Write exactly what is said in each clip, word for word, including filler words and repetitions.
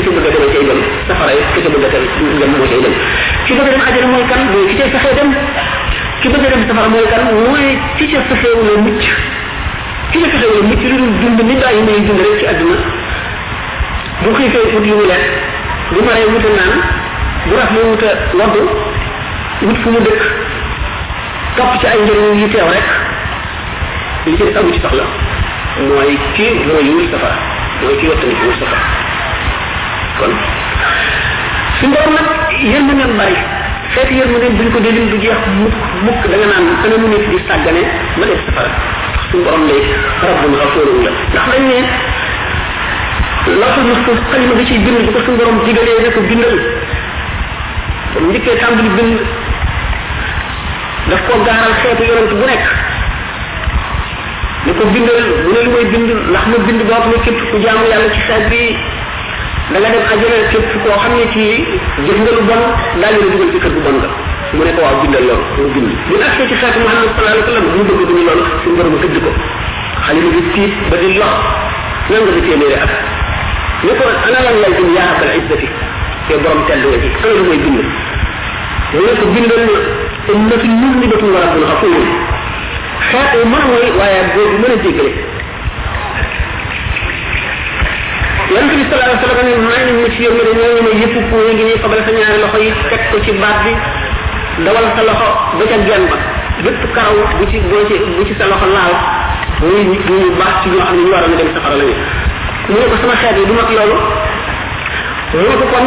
ci bëgg a dem cay dem safara yi ki ci bëgg a dem moo cay dem ki bëgg a dem àjjana mooy kan mooy ki cay fexee dem ki bëgg a dem safara mooy kan mooy ki ca fexeewula mucc ki ca fexeewula mucc lu dul dund ni bàyyi may dund rek ci àdduna bu xiifee wut lu mu lekk bu maree wuta naan bu raflee wuta waddu wut fu mu dëkk topp ci ay njëriñ yi teew rek li ci amu ci soxla mooy kii mooy wul safara mooy kii wattani wul safara kon su borom nag yërmande bari xeeti yërmande buñ ko délim du jeex mukk mukk da nga naan ana mu nit di sàggane ba def safara suñu borom lay rabbun ghafurun la ndax dañ ne lawhul mahfuz xalima bi ciy bind bu ko suñu borom digalee ne ko bindal comme njëkkee tàmbali bind daf ko gaaral xeetu yonent bu nekk ni ko bindal bu ne lu may bind ndax ma bind boo xam ne képp ku jaamu yàlla ci xeet bi da nga dem àjjana képp koo xam ne ci jëf nga lu bon daal la dugal ci kër gu bon nga mu ne ko waaw bindal loolu mu bind bu agsee ci xeetu Muhammad sallallahu alayhi wa sallam mu bëgg duñu loolu suñu borom tëdd ko xalima bi tiit ba di lox nan nga di téeméeri at ne ko ana lan lay bind yaa rabbal izzati te borom tedd nga ci ana lu may bind mu ne ko bindal ummatu muznibatun wa rabbun ghafurun xeet mën a mooy waaye boobu mën a jéggale yonente bi sallallahu alayhi wa sallam ne may nañ ma ci yërmande ñoo ñu ne yëpp ku ngi nii fabal sa ñaari loxo yi teg ko ci baat bi dawal sa loxo ba ca genn ba bépp karaw bu ci boo ci bu ci sa loxo laal muy nit ñu baax ci ñoo xam ne ñu waroon a dem safara lañu mu ne ko sama xeet yi du mat loolu mu ne ko kon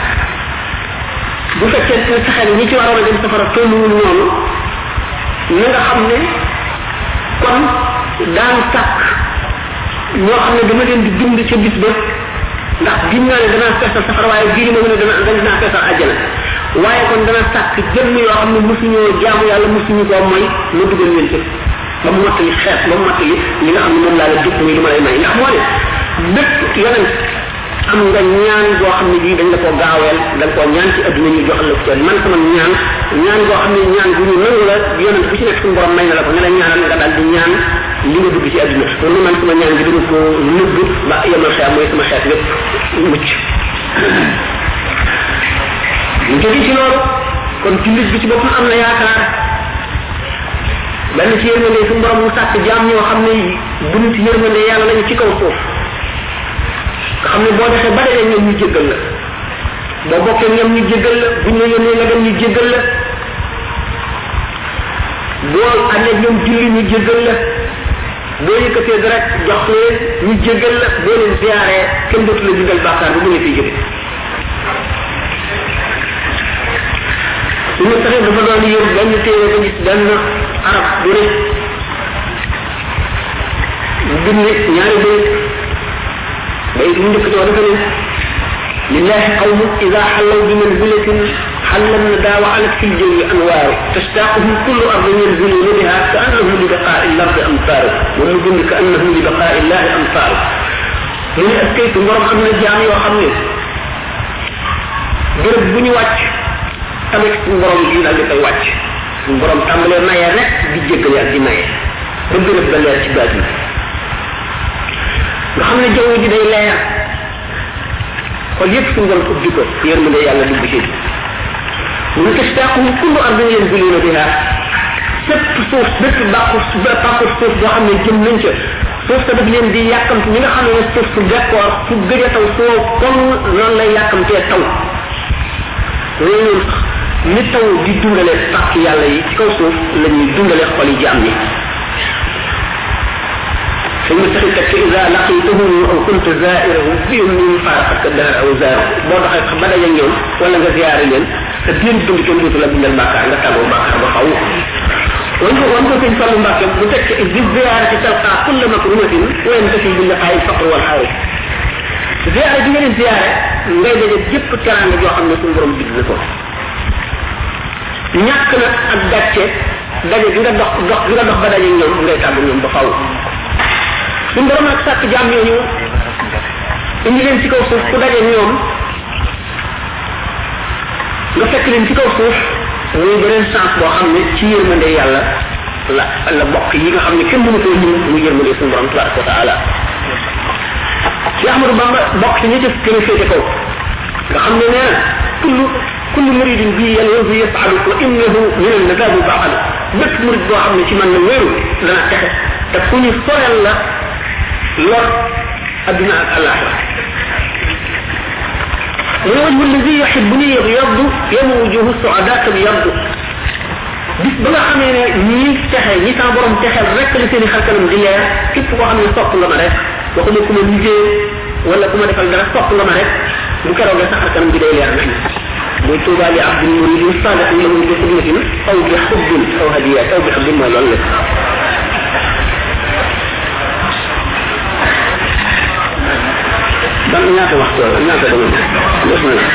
bu fekkee ne sa xeet ñi ci waroon a dem safara tolluwul noonu na nga xam ne kon daan sàkk ñoo xam ne dama leen di dund ca bis ba ndax gim naa ne danaa feesal safara waaye gii ma ne dana danaa feesal àjjana waaye kon dana sàkk jëmm yoo xam ne mosuñoo jaamu yàlla mosuñu koo mooy ma dugal leen ci ba mu mottali xeet ba mu mottali li nga xam ne moom laa la dëkk muy lu ma lay may ndax moo ne bépp yonent am nga ñaan boo xam ne bii dañ la koo gaaweel da nga koo ñaan ci adduna ñu joxal la ko ci man sama ñaan ñaan boo xam ne ñaan bu ñu nangu la yonent bu ci nekk suñu borom may na la ko ne la ñaanal nga daal di ñaan li nga dugg ci adduna kon man sama ñaan gi dama ko nëbb ba yemal xeet mooy sama xeet lépp mucc ñu jóge ci loolu kon jullit bi ci boppam am na yaakaar benn ci yërmande suñu borom mu sàkk jaam ñoo xam ne bunt yërmande yàlla lañu ci kaw suuf nga xam ne boo defee ba dee ñoom ñu jéggal la boo bokkee ñoom ñu jéggal la buñ la yónnee nga dem ñu jéggal la boo àndee ñoom julli ñu jéggal la boo yëkkatee dara jox leen ñu jéggal la boo leen ziyaaree kenn dootu la bindal bàkkaar bu mu ngi fiy jóge suñu taxee dafa doon yër benn téere ba gis benn arab bu ne bind ñaari bayt bayt mu njëkk dafa ne lillahi qawmu ida xallaw bi manzilatin حل الندى وعلت في الجو أنوار تشتاقهم كل أرض ينزلون بها كأنهم لبقاء الأرض أمطار ونظن كأنهم لبقاء الله أمطار من أسكيت مرم أمن الجامع وخمي برب بني واتش tamit suñu borom yi dal di koy wàcc suñu borom tàmbalee maye rek di jéggale ak di maye ba gërëb ba leer ci baat yi nga xam ne jaww ji day leer xol yépp suñu borom ubbi ko yërmande yàlla dugg ci mu tastaqum kullu ardin yanziluna biha fépp suuf bépp bàqu bàqu suuf boo xam ne jëm nañ ca suuf sa daf leen di yàkkamti ñi nga xam ne suuf su bekkoor fu gëj a taw soo comme noonu lay yàkkamtee taw loolu ni taw di dundale pàkk yàlla yi ci kaw suuf la ñuy dundale xol yi jaam ñi ثم تخيلك إذا لقيتهم أو كنت زائره بهم من فارقك الدهر أو زاره بوضع خبدا ينيوم ولا nga ziaré len te biir dund kenn dootu la bindal bàkkaar nga tàggoo bàkkaar ba xaw wan ko wan ko sëñ Fallu Mbàkke bu tekk di ziaré ci talqa kulla makrumatin wa yantafi bil liqa'i faqr wal xaw ziaré bi nga leen ziaré ngay daje jëpp teranga joo xam ne suñu borom digg na ko ñàkk na ak gàcce daje bi nga dox dox bi nga dox ba daje ñoom ngay tàggu ñoom ba faw suñu borom nag sàkk jaam ñooñu indi leen ci kaw suuf ku daje ñoom nga fekk leen ci kaw suuf muy beneen chance boo xam ne ci yërmande yàlla la la bokk yi nga xam ne kenn mënu ko ñu mu yërmande suñu borom tabaraka wa taala ci Ahmadou Bamba bokk ci ñi ci gën a féete kaw nga xam ne nee na kullu kullu muridin bi yalwazu yas'adu wa innahu min an-nadabi ba'al bépp murid boo xam ne ci man la wéeru dana texe te ku ñu sorel la lor adduna ak alaxira والوجه الذي يحبني يبيض يوم وجوه السعداء تبيض bis ba nga xamee ne ñi texe ñi sa borom texel rek la seen xar kanam di leer képp koo xam ne sopp nga ma rek waxuma ku ma liggéey wala ku ma defal dara sopp nga ma rek bu keroog sa xar kanam bi day leer nañ muy tuuba li abdul murid sadiq lahu bi khidmatin aw bi hubbin aw hadiyat aw bi hubbin mooy loolu la dan ñaata waxtu ñaata dama bismillah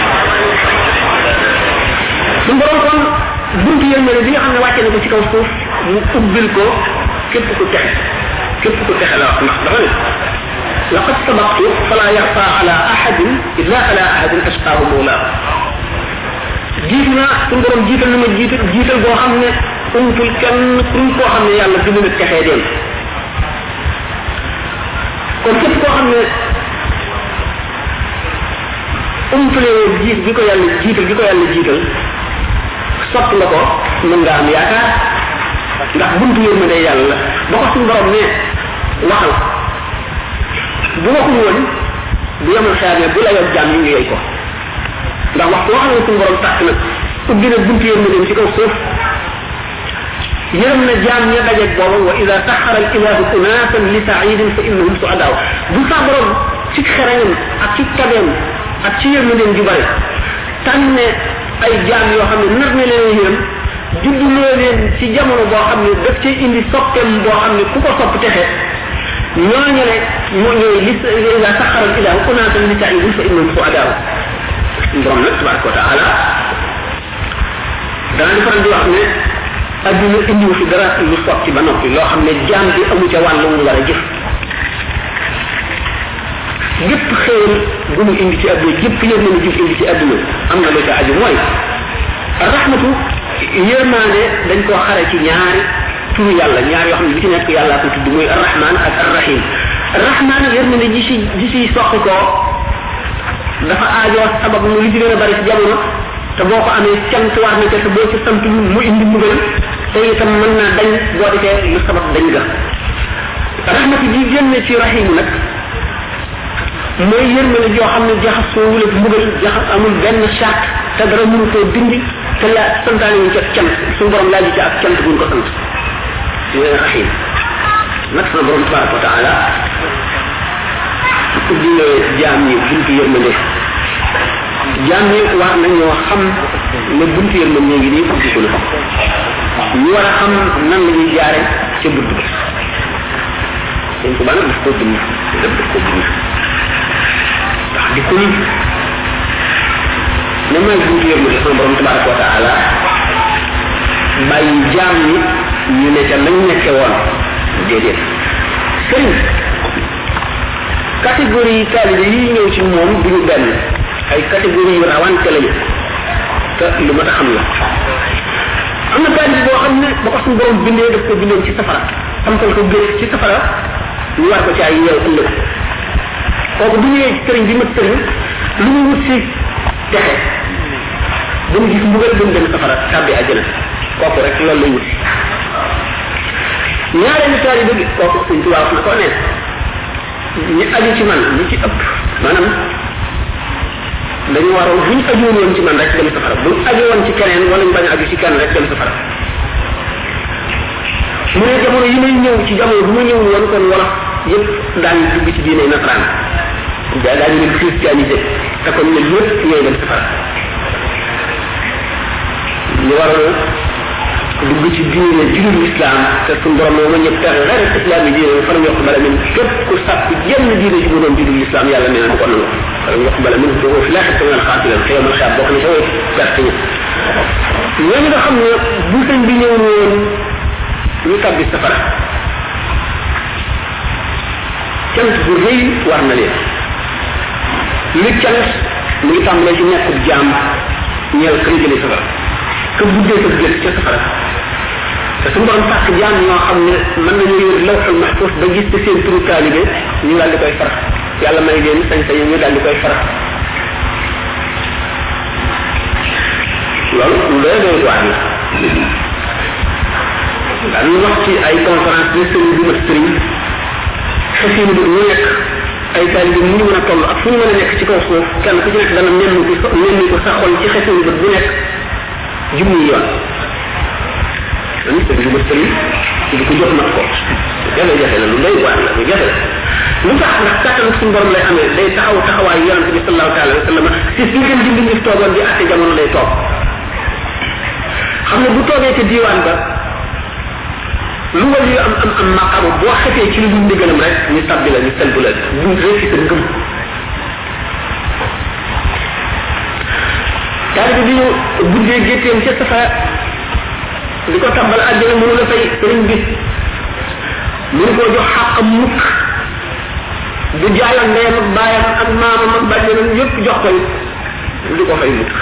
sun borom kon buntu yërmande bi nga xam ne wàcce na ko ci kaw suuf mu ubbil ko képp ku texe képp ku texe la wax ndax dafa ne laqad sabaqtu fala yaxfa ala ahadin illa ala ahadin ashqaahu mawlaa jiitu naa suñu borom jiital na ma jiital jiital boo xam ne umtul kenn kuñ koo xam ne yàlla du mën a texee dem kon képp koo xam ne umtule jiit bi ko yàlla jiital bi ko yàlla jiital sopp nga ko mën nga am yaakaar ndax buntu yërmande yàlla ba ko suñu borom ne waxal bu waxul woon bu yemal xeer ne bu la yor jaam yi nga yey ko ndax waxtu wax na suñu borom tàkk nag ubbi na buntu yërmande ci kaw suuf yërëm na jaam ña dajeeg booba wa ida saxara al ilahu unasan li saidin fa innahum suadaw bu sa borom ci xereñam ak ci tabeem ak ci yërmandeem ju bari tànne ay jaam yoo xam ne nar na leen yërëm judduloo leen ci jamono boo xam ne daf ci indi soppeem boo xam ne ku ko sopp texe ñooñu ne moo ñooy li ila saxaral ilahu unaatan li taibin fa innahum suadaw borom nag tabaraka wa taala dana di faral di wax ne adduna indiwu fi dara lu sotti ba noppi loo xam ne jaam bi amu ca wàll mu war a jëf gépp xéewal bu mu indi ci adduna gépp yéen mën a jëf indi ci adduna am na lu ca aju mooy rahmatu yërmaande dañ koo xare ci ñaari turu yàlla ñaar yoo xam ne bi ci nekk yàlla ko tudd muy arrahman ak arrahim arrahman yërmaande ji si ji si soqi koo dafa aajoo sabab lu li ci gën a bari ci jamono te boo ko amee cant war na ca te boo ci sant mu indi mbugal te itam mën naa dañ boo defee lu sabab dañ ga rahmatu ji génne ci rahim nag mooy yërmande joo xam ne jaxasoo wula mbugal jaxas amul benn charte te dara mënu koo dindi te la santaane ñu ca cant suñu borom laaj ci ak cant buñ ko sant yooyu rahim nag sama borom tabaraka wa taala ubbi jaam ñi buntu yërmande jaam ñi war nañoo xam ne buntu yërmande ngi nii ubbi ko la ñu war a xam nan la ñuy jaare ca bunt bi dañ ko bana daf koo bind daf daf koo bind ndax di ko ne may buntu yërmande sama borom tabaraka wa taala bàyyi jaam ñi ñu ne ca lañ nekke woon déedéet sëriñ catégorie taalibe yi ñëw ci moom duñu benn ay catégorie yu rawante lañu te lu ma ta xam la am na taalibe boo xam ne ba ko suñu borom bindee daf ko bindoon ci safara samtal ko gës ci safara ñu war ko ci ay yeew ëllëg kooku bu ñëwee ci sëriñ bi mat sëriñ lu mu wut si texe ba mu gis mbugal ba mu dem safara tàbbi àjjana kooku rek loolu lay wut si ñaareelu taalibe bi kooku suñ tubaab wax na ko ne ñi aju ci man ñi ci ëpp maanaam dañu waroon bu ñu ajuwoon woon ci man rek dem safara bu ñu aju woon ci keneen wala ñu bañ a aju ci kenn rek dem safara mu ne jamono yi may ñëw ci jamono bu ma ñëw woon kon wala yëpp daañu dugg ci diine nasaraan daa daañu leen christianisé te kon ñun ñëpp ñooy dem safara ñu waroon dugg ci diine julul islam te suñu borom moo ma ñëpp tax rek islam yi diine fa ñu bala min képp ku sàpp jenn diine ci mu doon julul islam yàlla nee na ko nangu fa ñu bala min do fi la xata wal xaatilan xëy ma xaab bokk na sa way perte ñi ñooñu nga xam ne bu sëñ bi ñëw woon ñu tabbi safara cant bu rëy war na leen li cant mu ngi tàmbalee ci nekkub jaam ñeel kër jële safara que buddee sa jël ca safara te suñu borom sàkk jaam ñoo xam ne mën nañu yor lawxul mahfuz ba gis te seen turu taalibe ñu daal di koy far yàlla may leen sañ-sañ ñu daal di koy faral loolu lu doy doy waar la dañu wax ci ay conférence de sëriñ bu ma sëriñ xasinu bi ñu nekk ay taalibe mu ñu mën a toll ak fu ñu mën a nekk ci kaw suuf kenn ku ci nekk dana nenn ko nenn ko sa xol ci xasinu bi bu nekk junni yoon dañu sëriñ bu ma sëriñ di ko jox mat ko jafe jafe la lu doy waar la lu jafe la lu tax ndax kàttan suñu borom lay amee day taxaw taxawaay yonente bi sallallahu taala wa sallam si si ngeen di mbindi toogoon di atte jamono lay toog xam ne bu toogee ca diiwaan ba lu wal yu am am am maqamu boo xetee ci lu dul ndigalam rek ñu tabbi la ñu selbu la ñu réusi sa ngëm taalibe bi ñu buddee gétteem ca safa di ko tabbal àjjana mënu la fay sëriñ bi mënu koo jox xàqam mukk du jaayoon ndeyam ak baayam ak maamam ak bàjjenam yëpp jox koy du ko fay mukk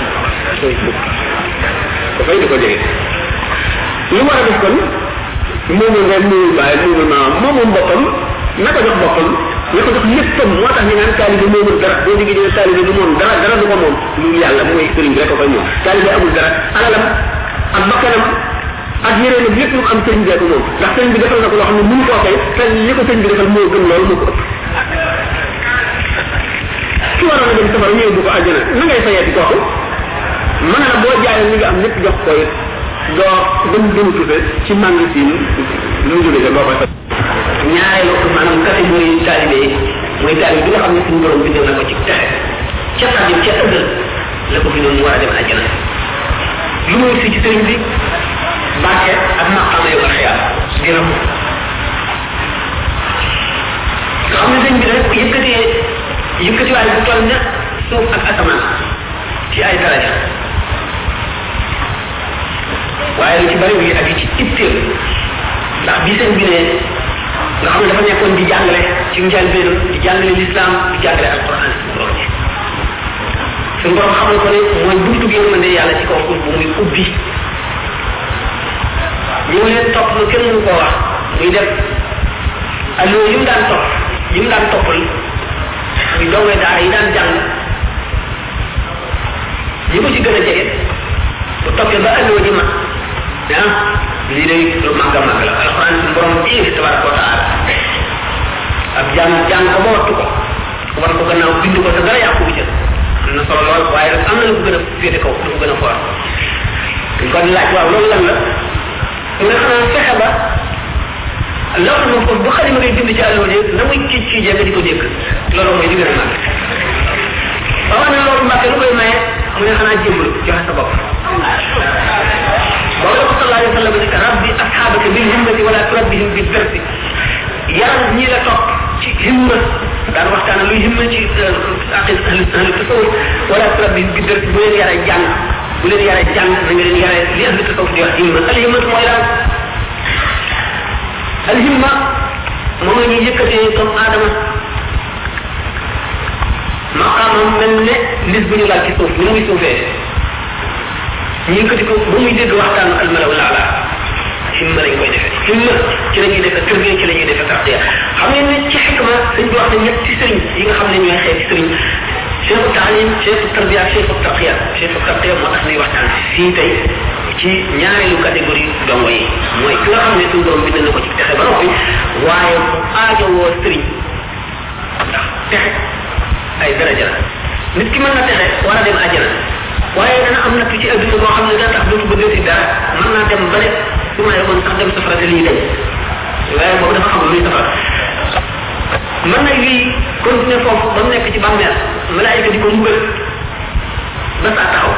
ko fay di ko jege li war a def kon moomul ndeyam moomul baayam moomul maamam moomul boppam na ko jox boppam na ko jox léppam moo tax ñu naan taalibe moomul dara boo diggi dee taalibe du moom dara dara du ko moom lu yàlla mooy sëriñ bi rek ko koy moom taalibe amul dara alalam ak bakkanam ak yéréen ak lépp lu am sëriñ bi moom ndax sëriñ bi defal na ko loo xam ne mënu koo fay te li ko sëriñ bi defal moo gën loolu moo ko ëpp ki waroon a dem safara ñëw bu ko àjjana na ngay fayeeti kooku mën na boo jaayee li nga am lépp jox ko it doo dem dem tufe ci magasin lu mu jógee boo koy fay ñaareelu maanaam catégorie taalibe yi mooy taalibe bi nga xam ne suñu borom bindal na ko ci texe ca xadim ca ëllëg la ko bindoon mu war a dem àjjana lu muy si ci sëriñ bi barke ak maqaama yow ak xiyaar dina ko nga xam ne sëñ bi rek yëkkatee yëkkatiwaay bu toll ne suuf ak asamaan ci ay daraja waaye lu ci bari wi ak ci itteem ndax bi sëñ bi ne nga xam ne dafa nekkoon di jàngale ci njëlbéenam di jàngale l'islam di jàngale alquran suñu borom ji suñu borom xamal ko ne mooy buntu bi yërmande yàlla ci kaw suuf bu muy ubbi ñu leen topp lu kenn mënu koo wax muy def allo yi mu daan topp yi mu daan toppal muy dongay daara yi daan jàng ñi ko ci gën a jege bu toppee ba allo ji mat ah lii day lu màgg a màgg la alquran suñu borom ci tabaraka wa taala ab jàng jàng ko ba wattu ko war ko gannaaw bind ko te dara yàqu bi ca am na solo lool waaye nag am na lu ko gën a féete kaw lu ko gën a foor kon laaj waaw loolu lan la mu ne xanaa fexe ba loolu moom foofu bu xalima ngay bind ci àllo ji na muy kii kii jee nga di ko dégg loolu mooy li gën a màgg waaw ne loolu mbàkke lu koy maye mu ne xanaa jëmbal joxe sa bopp boobu la ko sallallahu alayhi wa sallam ne rabbi asxaabaka bil himmati wala turabbihim bil versi yaram ñi la topp ci himma daan waxtaan luy himma ci aqid ahli tasawuf wala turabbihim bil versi bu leen yare jàng bu leen yare jàng na nga leen yare li ahli tasawuf di wax himma al himma mooy lan al himma moom la ñuy yëkkatee comme aadama maqaamam mel ne lis bu ñu laal ci suuf ni muy suufee ñu yëkkati ko ba muy dégg waxtaanu almalaw laala himma lañ koy defee himma ci la ñuy defee tërbiya ci la ñuy defee tarbiya xam ngeen ne ci xikma dañ di wax ne ñetti sëriñ yi nga xam ne ñooy xeeti sëriñ cheikhu taalim cheikhu tarbiya cheikhu tarqiya cheikhu tarqiya moo tax ñuy waxtaan fii tey ci ñaareelu catégorie dongo yi mooy ki nga xam ne suñu borom bind na ko ci texe ba noppi waaye mu aajowoo sëriñ ndax texe ay daraja la nit ki mën na texe war a dem àjjana waaye dana am natt ci adduna boo xam ne dana tax dootu bëgg si dara mën naa dem ba ne su ma yemoon sax dem safara te lii dañ waaye boobu dafa xam luy safara mën na lii continuer foofu ba mu nekk ci bàmmeel malaayika di ko mbugal ba saa taxaw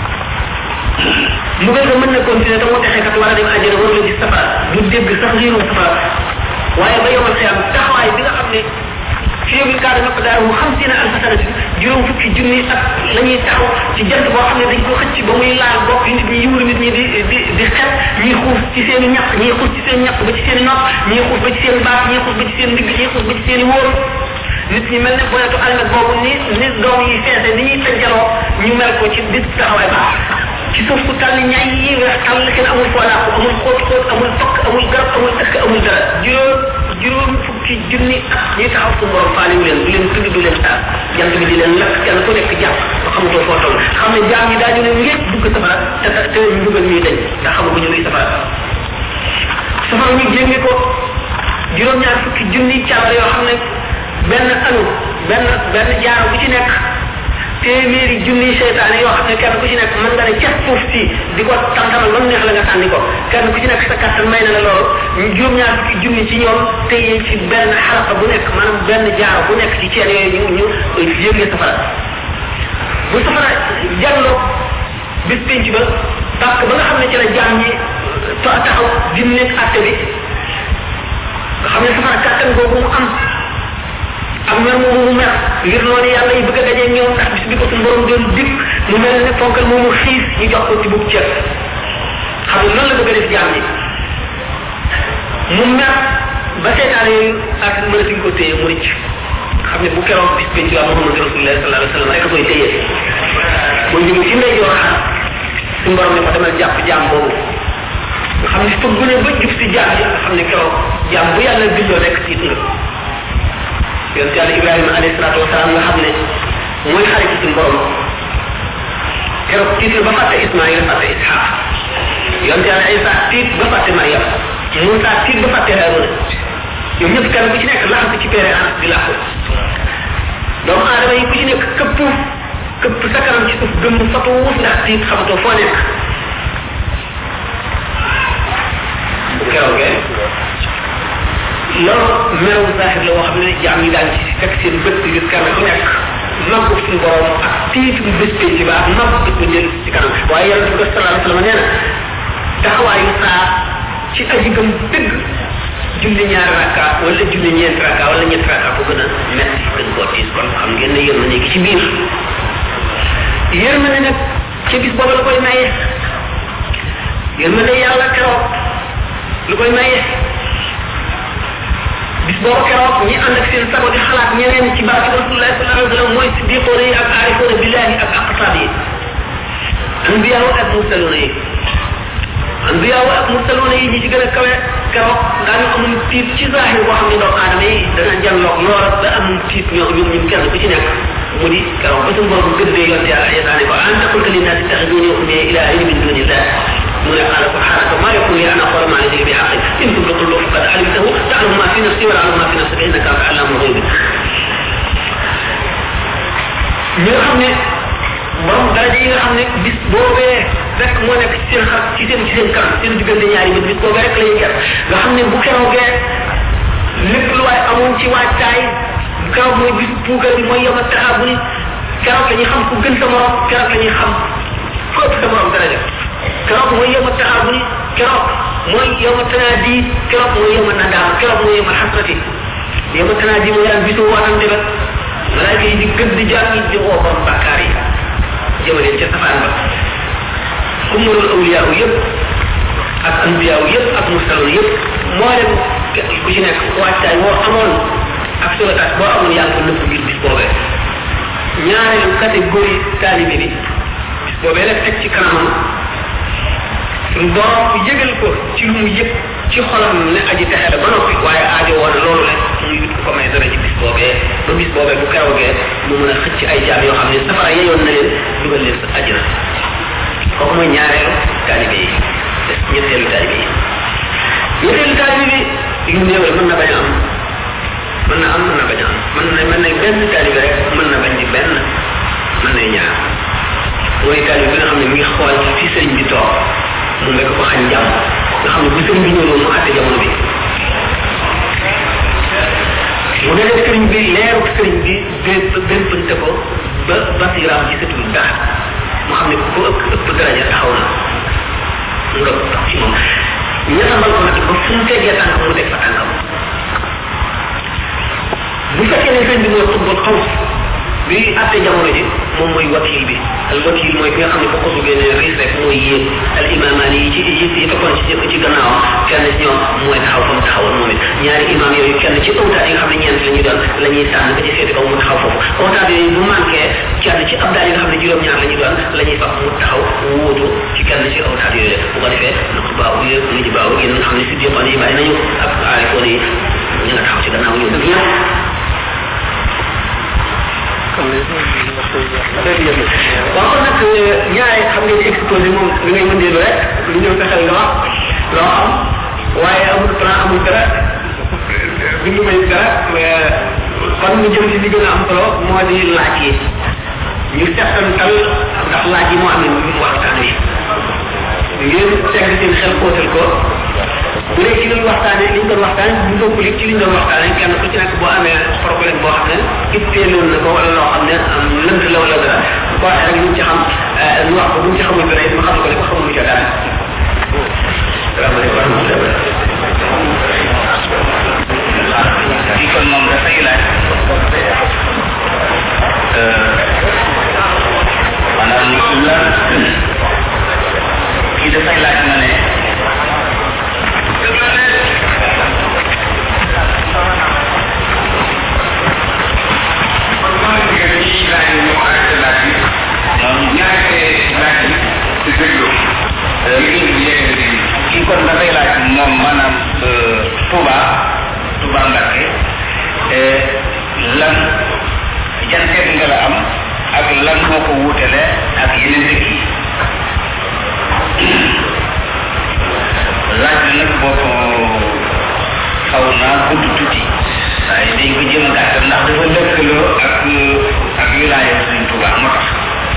mbugal ga mën na continuer te moo texe kat war a dem àjjana war la gis safara du dégg sax liiru safara waaye ba yomal xiyam taxawaay bi nga xam ne fi yóbbu kaada nag daal mu xam si ne alfa sanati juróom fukki junni ak la ñuy taxaw ci jant boo xam ne dañ ko xëcc ba muy laal bopp yi nit ñi yiwlu nit ñi di di di xet ñii xuuf ci seen i ñaq ñii xuuf ci seen ñaq ba ci seen i nopp ñii xuuf ba ci seen baat ñii xuuf ba ci seen ndigg ñii xuuf ba ci seen i wóor nit ñi mel ne bonetu almet boobu ni ni doom yi feese ni ñuy tënjaloo ñu mel ko ci bis taxawaay ba ci suuf ku tàll ñaay yi weex tàll kenn amul foo làqu amul xóot xóot amul tokk amul garab amul ëkk amul dara juróom juróom fukki junni at ñuy taxaw su borom faale wu leen du leen tudd du leen taal jant bi di leen lakk kenn ku nekk jàpp ba xamatoo foo toll xam ne jaam ñi daañu ne ngeen dugg safara te te ñu dugal ñuy dañ ndax xamaguñu luy safara safara ñu jénge ko juróom ñaar fukki junni càll yoo xam ne benn anu benn benn jaaro bu ci nekk téeméeri junni seytaane yoo xam ne kenn ku ci nekk mën nga ne ca suuf si di ko tantamal ba mu neex la nga sànni ko kenn ku ci nekk sa kattan may na la loolu ñu juróom ñaar fukki junni ci ñoom téye ci benn xalaqa bu nekk maanaam benn jaaro bu nekk ci ceen yooyu ñu ñu yëgle safara bu safara jàlloo bis penc ba parce que ba nga xam ne ci la jaam ñi taxaw dim nekk atte bi nga xam ne safara kattan boobu mu am am mer moomu mu mer ngir noonu yàlla yi bëgg a dajee ñoom ndax bis bi ko suñu borom doon dikk mu mel ne fonkal moomu xiis ñu jox ko ci bub ceeb xam nga noonu la bëgg a def jaam ñi mu mer ba seetaan yooyu ak mënatuñ ko téye mu rëcc xam ne bu keroog bis penc waa Muhammad Rasulullah sallallahu alayhi wa sallam rek a koy téye boo jógee ci ndey joor xaar suñu borom ne ko demal jàpp jaam boobu nga xam ne fa gune ba jub si jaam yi nga xam ne keroog jaam bu yàlla bindoo rek tiit nga yonte yàlla Ibrahima alayhi salaatu wasalaam nga xam ne mooy xarit ci suñu borom keroog tiit na ba fàtte Ismaïl fàtte Ishaq yonte yàlla Isa tiit ba fàtte Mariam Moussa tiit ba fàtte Haruna ñoom ñëpp kenn ku ci nekk laxatu ci peere an di làqu doomu aadama yi ku ci nekk këpp këpp sa kanam ci suuf gëm fatu wus ndax tiit xamatoo foo nekk bu keroogee loolu meew zahir la woo xam ne jaam yi daan ci fekk seen bët di gis kenn ku nekk mag suñu borom ak tiitu bés penc ba ak mag di ko jël ci kanam waaye yàlla bi ko sallallahu alayhi wa sallam nee na taxawaayu saa ci aji gëm dëgg julli ñaari rakka wala julli ñeenti rakka wala ñetti rakka bu gën a metti gën koo tiis kon xam ngeen ne yërmande gi ci biir yërmande nag ci bis boobu la koy maye yërmande yàlla keroog lu koy maye bis boobu keroog ñi ànd ak seen sago di xalaat ñeneen ci barke Rasulullah sallallahu alayhi wa sallam mooy siddiqoona yi ak aarifoona billahi ak aqtaab yi anbiyaaw ak mursaluuna yi anbiyaaw ak mursaluuna yi ñi ci gën a kawe keroog daañu amul tiit ci zahir boo xam ne doomu aadama yi dana jàlloog loola ba amul tiit ñoo ñoom ñun kenn ku ci nekk mu di keroog ba suñu borom gëddee yonte yàlla yesaane ko anta qulta linnaasi ittaxiduuni wa ummiya ilaahayni min duunillah mu ne qaala subhaanaka maa yakunu li an aquula maa laysa li bihaqqin in kuntu qultuhu faqad alimtahu ta'lamu maa fi nafsi wa la a'lamu maa fi nafsika innaka anta allaamul ghuyuub ñi nga xam ne borom daraja yi nga xam ne bis boobee rek moo nekk ci seen xar ci seen ci seen kanam seen diggante ñaari bët bis boobee rek la ñuy ger nga xam ne bu keroogee lépp lu waay amoon ci waajtaay keroog mooy bis puugal bi mooy yoma taxaa bu ni keroog la ñuy xam ku gën sa morom keroog la ñuy xam ku ëpp sa morom daraja keroog mooy yoma taxaa bu ni keroog mooy yoma tanaadi keroog mooy yoma nadaam keroog mooy yoma xasrati yoma tanaadi mooy daan bisu waatante ba malaaka yi di gën di jaar yi di woo borom bàkkaar yi jëmaleen ca safaan ba kummalul awliyaaw yëpp ak anbiyaaw yëpp ak mursaloon yëpp moo dem ku ci nekk waajtaay boo amoon ak solotaat boo amoon yaa ngi ko nëpp ngir bis boobee ñaareelu catégorie taalibe bi bis boobee rek teg ci kanamam suñu borom yëgal ko ci lu mu yëg ci xolam ne aji texe la ba noppi waaye aajo woon loolu rek mu yut ko may dara ci bis boobee ba bis boobee bu keroogee mu mën a xëcc ay jaam yoo xam ne safara yeyoon na leen dugal leen sa àjjana kooku mooy ñaareelu taalibe yi ñetteelu taalibe yi ñetteelu taalibe bi yu néew mën na bañ a am mën na am mën na bañ a am mën na mën na benn taalibe rek mën na bañ di benn mën na ñaar mooy taalibe bi nga xam ne mi ngi xool fi sëriñ bi toog mu nekk ko xañ jàmm nga xam ne bu sëriñ bi ñëwoon mu àtte jamono bi mu ne leen sëriñ bi leeru sëriñ bi bépp béppante ko ba basiraam ci sëtul dara mu xam ne ku ëpp ëpp daraja taxaw na mu nga tax ci moom ñettambal ko nag ba fu mu teggee tànk mu teg fa tànkam bu fekkee ne sëriñ bi mooy xutbul xaw bi àtte jamono ji moom mooy wakil bi al wakil mooy ki nga xam ne boo ko duggee ne riis rek mooy yéen al imamaan yi ci yi yi toppoon ci ci gannaawam kenn ci ñoom mooy taxaw fa mu taxawoon moom it ñaari imam yooyu kenn ci awtaat yi nga xam ne ñeent la ñuy doon la ñuy tànn ba ci seeti kaw mu taxaw foofu awtaat yooyu bu manqué kenn ci abdaal yi nga xam ne juróom-ñaar la ñuy doon la ñuy fab mu taxaw wóotu ci kenn ci awtaat yooyu bu ko defee nag baaw yëpp ngi ci baaw yéen nga xam ne si diqoon yi bàyyi nañu ak aarifoon yi ñu nga ci gannaaw ñu def ñëpp waaw kon nag ñaare xam ngeen ni exposé moom li ngay mën rek lu ñëw fexeel nga wax loo xam waaye amul plan amul dara bi ñu may dara kon ñu jëm ci li gën a am solo moo di laaj yi ñu settantal ndax laaj yi moo amee mu waxtaan yi ngeen teg seen xel xóotal ko bu dee ci liñ waxtaanee liñ doon waxtaanee bu bokkul ci liñ doon waxtaanee kenn ku ci nekk boo amee problème boo xam ne itteeloon na ko wala loo xam ne lënt la wala dara bu ko waxee rek ñu ci xam ñu wax ko bu ñu ci xamul dara it ma xam ko ne ko xamul ca dara salaamaaleykum wa rahmatulah kii kon moom dafay laaj maanaam la kii dafay laaj ma ne kii kon dafay laaj moom maanaam Touba Touba Mbacké lan jan seet nga la am ak lan moo ko wuutale ak yeneen dëkk yi laaj na nag boo ko xaw naa gudd tuuti waaye dañ ko jëm a gàttal ndax dafa lëkkaloo ak ak wilaaya Sëriñ Touba moo tax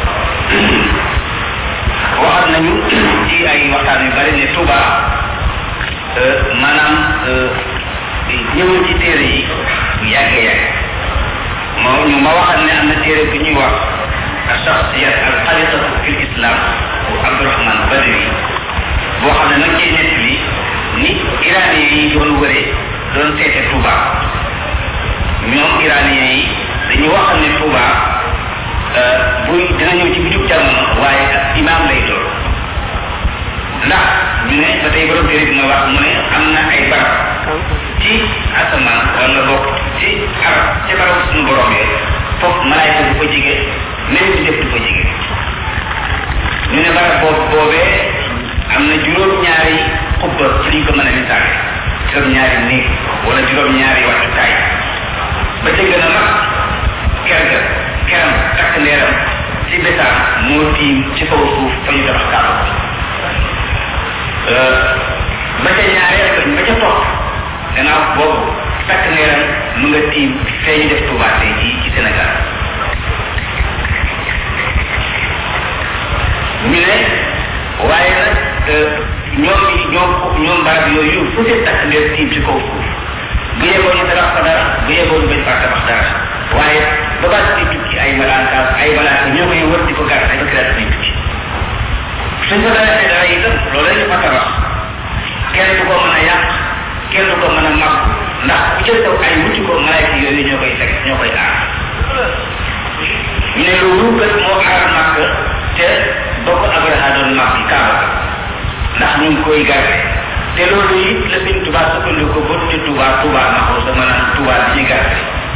waxat nañu ci ay waxtaan yu bari ne Touba maanaam ñëwul ci téere yi yàggee yàgg moo ñu ma waxal ne am na téere bi ñuy wax shakhsiyat al xaliqatu fi l islam bu Abdourahman Badri boo xam ne nag cee nett li ni iranien yi doon wëree doon seete Touba ñoom iranien yi dañu waxal ne Touba buy dina ñëw ci bitub jamono waaye ak imaam lay doon ndax ñu ne ba tey borom téere bi nga wax mu ne am na ay barab ci asamaan wala bokk ci arab ci barab suñu borom yi foofu malaayka du ko jige même di def du ko jige ñu ne barab boobu boobee am na juróom-ñaari xubba ci liñ ko mën a misaale juróom-ñaari néeg wala juróom-ñaari waxtukaay ba ca gën a mag ker ga keram takk ndeeram ci besaam moo tiim ci kaw suuf fa ñu tabax kaaba ba ca ñaareel ba ba ca topp gannaaw boobu takk ndeeram mu nga tiim fee ñu def Touba tey ci ci Sénégal ñu ne waaye nag ñoom ñoom ñoom barab yooyu fu seen takk ndeer tiim ci kaw suuf bu yeboo ñu tabax fa dara bu yeboo ñu bañ faa tabax dara waaye ba baat di tukki ay malaaka ay malaaka ñoo koy wër di ko gàtt ay bakiraat di tukki suñ ko dara dara itam loolu la ñu fa tabax kenn du ko mën a yàq kenn du ko mën a mag ndax bu ca taw ay wuti ko malaaka yooyu ñoo koy fekk ñoo koy aar ñu ne loolu kat moo aar màkk te bokk Abraha doon màkk yi kaaba ndax ñu ngi koy garde te loolu it la Sëñ Tuubaa sukkandiku ba tudde Tuubaa Tuubaa ma ko sa maanaam Tuubaa di ci garde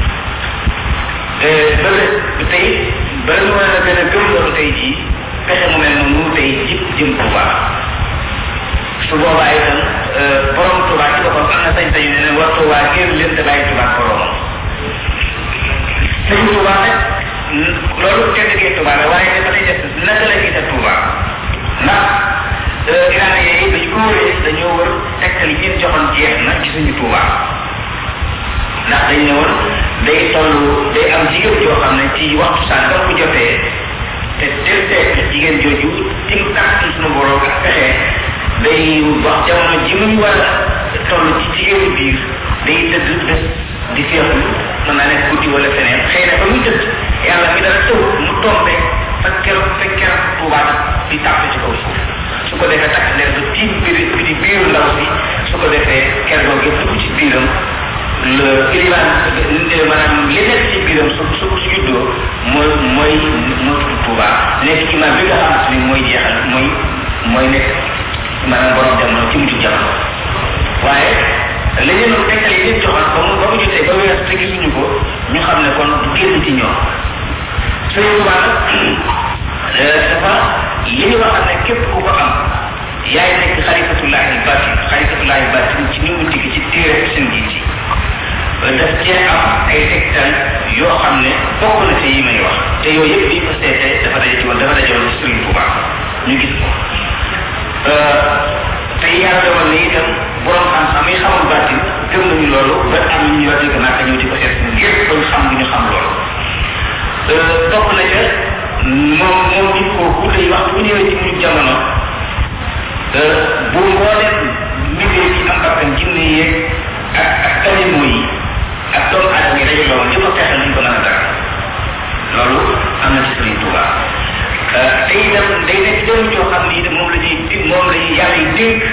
bële tey ba ñu war a gën a gëm loolu tey jii pexe mu mel noonu tey jib jëm Touba su boobaa itam borom Touba ci boppam am na sañ-sañu ne ne war Touba génn leen te bàyyi Touba boromam sëñ Touba nag loolu tedd gee Touba la waaye dafa lay def naka la gis a Touba ndax iranien yi dañu ko wëree dañoo wër tegtal yi ñeen joxoon jeex na ci suñu Touba ndax dañ ne woon day toll day am jigéen joo xam ne ci waxtu sàngam bu jotee te tel seet jigéen jooju ci kàttan suñu borom ak pexe day wax jamono ji muy war a toll ci jigéenu biir day tëdd bés di seexlu mën naa nekk guddi wala feneen xëy na ba muy tëdd yàlla mi dara tëw mu tombe fekk keroog fekk keroog tuubaat di tàpp ci kaw suuf su ko defee takk leer ba tiim biir bi di biiru ndaw si su ko defee keroog yëpp dugg ci biiram le iliman maanaam li nekk ci biiram su su su juddoo mooy mooy moo tudd Touba nekk ci maam bi nga xamante ni mooy jeexal mooy mooy nekk maanaam borom jamono ci mujj jamono waaye la ñu tekkal yi leen joxoon ba mu ba mu jotee ba wees te gisuñu ko ñu xam ne kon du génn ci ñoom Sëñ Touba nag dafa li ñu wax ne képp ku ko am yaay nekk xalifatullahi batin xalifatullahi batin ci ni mu digg ci téere seen ji ci daf cee am ay tegtal yoo xam ne bokk na ci yi may wax te yooyu yëpp bi ko seetee dafa daje ci woon dafa daje woon ci Serigne Touba ñu gis ko te yàlla dogal na itam borom xam-xam yi xamul baatin gëm nañu loolu ba am ñu wax dëgg naa ñëw di ko seet ngir ba ñu xam bu ñu xam loolu bokk na ca moom moom nit kooku day wax bu ñëwee ci mujj jamono bu mbooleem liggéey ci am bakkan jinne yeeg ak ak animaux yi ak doomu aadama yi daje loolu li ko fexe nañ ko mën a dara loolu am na ci Serigne Touba te itam day nekk jëm joo xam ni moom la ñuy di moom la ñuy yàlla yi dénk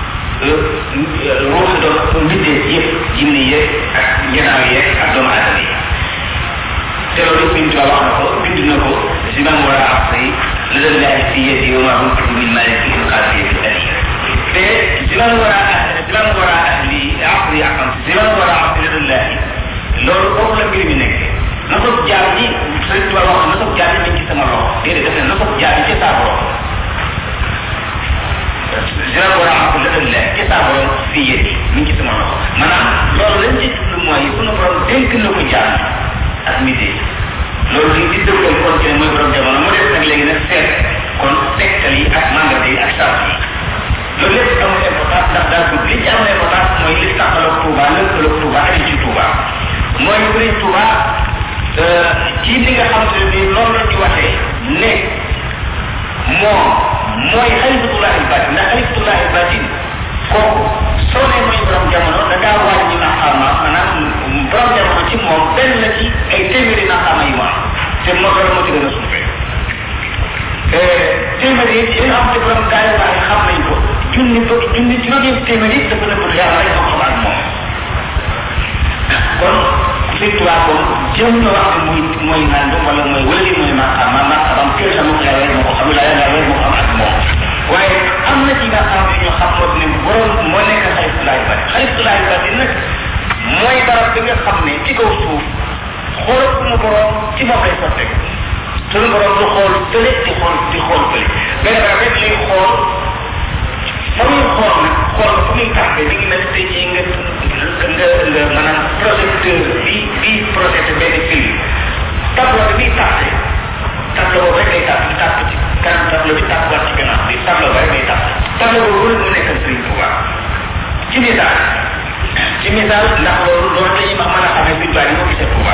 ruuxi doom mbindeef yëpp jinne yeeg ak njanaaw yeeg ak doomu aadama yi te loolu Serigne Touba wax na ko bind na ko si man war a asri la leen laaj fi yedi wa ma kuntu min malik fi qadi fi ali te si man war a si man war a asli asri akam si man war a asri la laaj loolu foofu la mbir mi nekk na ko jaar ñi Serigne Touba wax na ko jaar ñi ci sama loxo déedéet def na ko jaar ci sa borom si man war a asri la laaj ci sa borom fi yedi mi ngi ci sama loxo maanaam loolu lañ ci jublu mooy sunu borom dénk na ko jaar ak midi loolu li di dëggal kon ci mooy borom jamono mu def nag léegi nag seet kon tegtal yi ak mandat yi ak sart yi loolu lépp amul importance ndax daal dugg li ci amul importance mooy li taxaloog Touba lëkkaloog Touba ak ci Touba mooy Serigne Touba ci li nga xam ne ni loolu la di waxee ne moom mooy xalifatullahi batin ndax xalifatullahi batin kooku soo ne mooy borom jamono da ngaa wàññi maqaama maanaam borom jamono ci moom benn la ci ay téeméeri maqaama yu ma am te moo gën a moo ci gën a suufee téeméeri yi yi nga xam te borom gaa yi baax xam nañ ko junni ba junni juróomi téeméeri yi dafa nëbb yàlla rek moo xam ak moom kon Serigne Touba kon jëm na wax ne muy mooy nangam wala mooy wala li mooy maqaama maqaamam kër sa moo yàlla rek moo ko xam la yàlla rek moo xam ak moom waaye am na ci nga xam ne ñoo xam moo ne borom moo nekk xalifatullahi batin xalifatullahi batin nag mooy barab bi nga xam ne ci kaw suuf xool suñu borom ci moom lay sotteeku suñu borom du xool tële di xool di xool tële benn barab rek lay xool fa muy xool nag xool fu muy tàkkee mi ngi mel tey jii nga nga nga maanaam projecteur bi bi projeté benn film tableau bi muy tàkkee tableau boobu rek lay tàkk tàkk ci kanam tableau bi tàkkuwaat ci gannaaw bi tableau ba rek lay tàkk tableau boobu mu nekkal Serigne Touba ci misaal ci misaal ndax loolu loolu dañuy wax mën a xamee Serigne Touba ni moo gisee Touba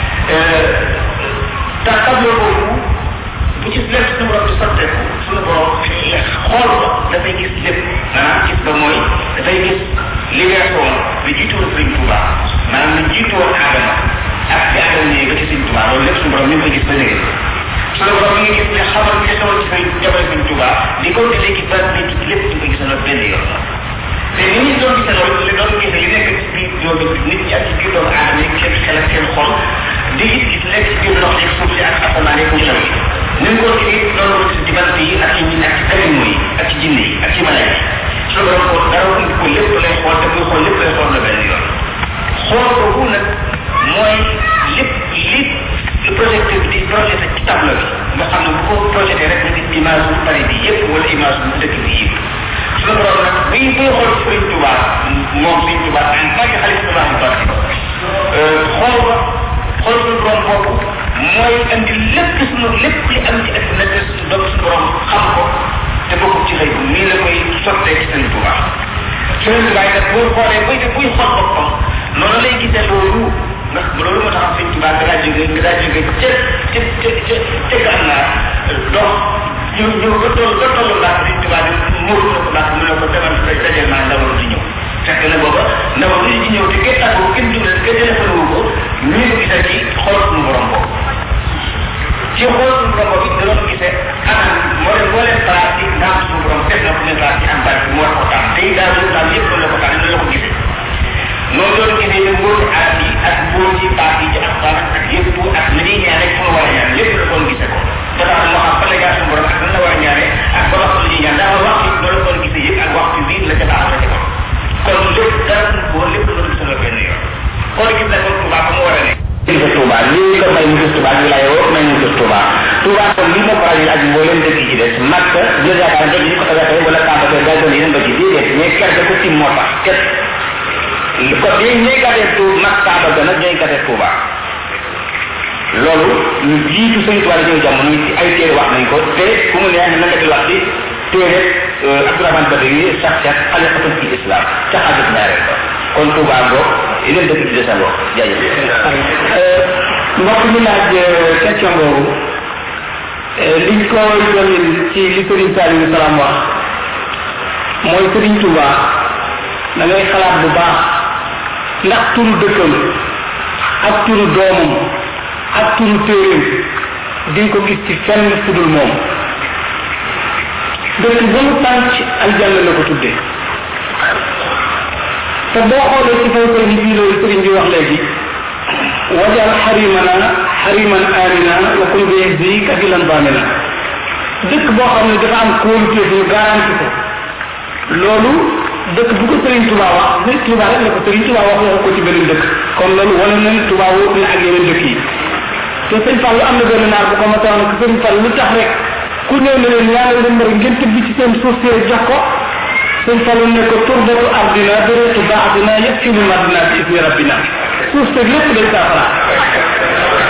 te tableau boobu bu ci lépp suñu borom di sotteeku suñu borom xool ko dafay gis lépp maanaam gis ba mooy dafay gis li weesoon li jiitu woon Serigne Touba maanaam li jiitu woon Adama ak bi Adama ñëwee ba ci Serigne Touba loolu lépp suñu borom ñu ngi koy gis ba léegi suñu borom mi ngi gis ne xamal li xewoon ci Serigne jamono Serigne Touba di ko di léegi ba nit lépp ñu koy gisandoo benn yoon te ni ñu doon gisee loolu li doon gisee li nekk ci biir yooyu nit ñi ak ci biir doomu aadama yi seen xel ak seen xol di gis gis nekk ci biir ndox yeeg suuf si ak asamaan yeeg ngelaw yi ni mu ko gisee loolu ko gis ci bant yi ak ci ak ci animaux yi ak ci jinne yi ak ci malayka yi suñu borom ko dara indi ko lépp lay xool te muy xool lépp lay xool la benn yoon xool boobu nag mooy lépp li projecteur bi di projeté ci tableau bi nga xam ne bu ko projeté rek nga gis image bu Paris bi yëpp wala image bu dëkk bi yëpp suñu borom nag buy buy xool ci Serigne Touba moom Serigne Touba en tant que xalifatullahi batin xool ba xool suñu borom boobu mooy andi lépp suñu lépp li am ci àdduna te suñu doom suñu borom xam ko te bokkul ci xëy bu nii la koy sottee ci Serigne Touba Serigne Touba nag boo xoolee buy buy xool boppam noonu lay gisee loolu ndax loolu moo tax Serigne Touba nga daa jóge nga daa jóge ca ca ca ca ca gànnaar dox ñu ñu ba toll ba tollu ndax Serigne Touba di muur na ko ndax mu ne ko demal dajal naa ndawal di ñëw fekk na booba ndawal li di ñëw te kenn tàggoo kenn dundal kenn téléphone wu ko ñu ngi gisee ci xool suñu borom boobu ci xool suñu borom boobu da doon gisee anam moo leen moo leen place yi ndax suñu borom def na ko ne place yi am bari bi moo ko tànn tey daal loolu daal yëpp loolu la ko tànn noonu la ko gisee noonu loolu gisee ne mbóoti aat yi ak mbóoti baat yi ci alxuraan ak yëpp ak li ñuy ñaan rek fu mu war a ñaan lépp la doon gisee ko ba tax moo xam fan la jaar suñu borom ak nan la war a ñaanee ak ba waxtu la ñuy ñaan daal waxtu yi loolu doon gisee yëpp ak waxtu bii la ca baax la ca kon kon lépp dara suñu ko lépp la doon gisee la benn yoon kon gis na kon Touba fa mu war a nekk gis Touba lii ko may mu gis Touba ñu lay woo may mu gis Touba Touba kon lii moo faral ak mboolem dëkk yi ci des Makka jël yaakaar dëkk yi ko tagatee wala Kaaba ko gaa doon yeneen ba ci déedéet mais kerte ko tim moo tax ket ko di ñay gàddee tu mag kaaba ga nag ñay gàddee Tuuba loolu ñu jiitu sëñ Tuuba ñëw jamono ci ay téere wax nañ ko te ku mu neex na nga di wax ci téere Abdourahmane Badri sax sax xalifatul ci islam ca xaajut ñaareel ko kon Tuuba ngoo yeneen dëkk ci desa ngoo jaajëf mbokk mi laaj question boobu liñ ko dolli ci li Sëriñ Saliou Salam wax mooy Sëriñ Tuuba da ngay xalaat bu baax ndax turu dëkkam ak turu doomam ak turu téeréem di nga ko gis ci fenn fudul moom dëkk ba mu tànc aljanna la ko tuddee te boo xoolee ci kaw kër bii loolu sëriñ bi wax léegi wajal xarimana xariman amina wa kun bi bi kafilan bamina dëkk boo xam ne dafa am kóolute ñu garanti ko loolu dëkk bu ko Sëriñ Tuuba wax Sëriñ Tuuba rek la ko Sëriñ Tuuba wax wax ko ci beneen dëkk kon loolu wane na ne Tuuba wóor na ak yeneen dëkk yi te sëñ Fall am na benn naar bu ko mataan ko sëñ Fall lu tax rek ku ñëw ne leen ñaanal leen mbër ngeen tëdd ci seen suuf si jox ko sëñ Fall ne ko turbatu ardina bëreetu baaxdina yëpp ci lu madina ci ismi rabbina suuf si lépp day saafara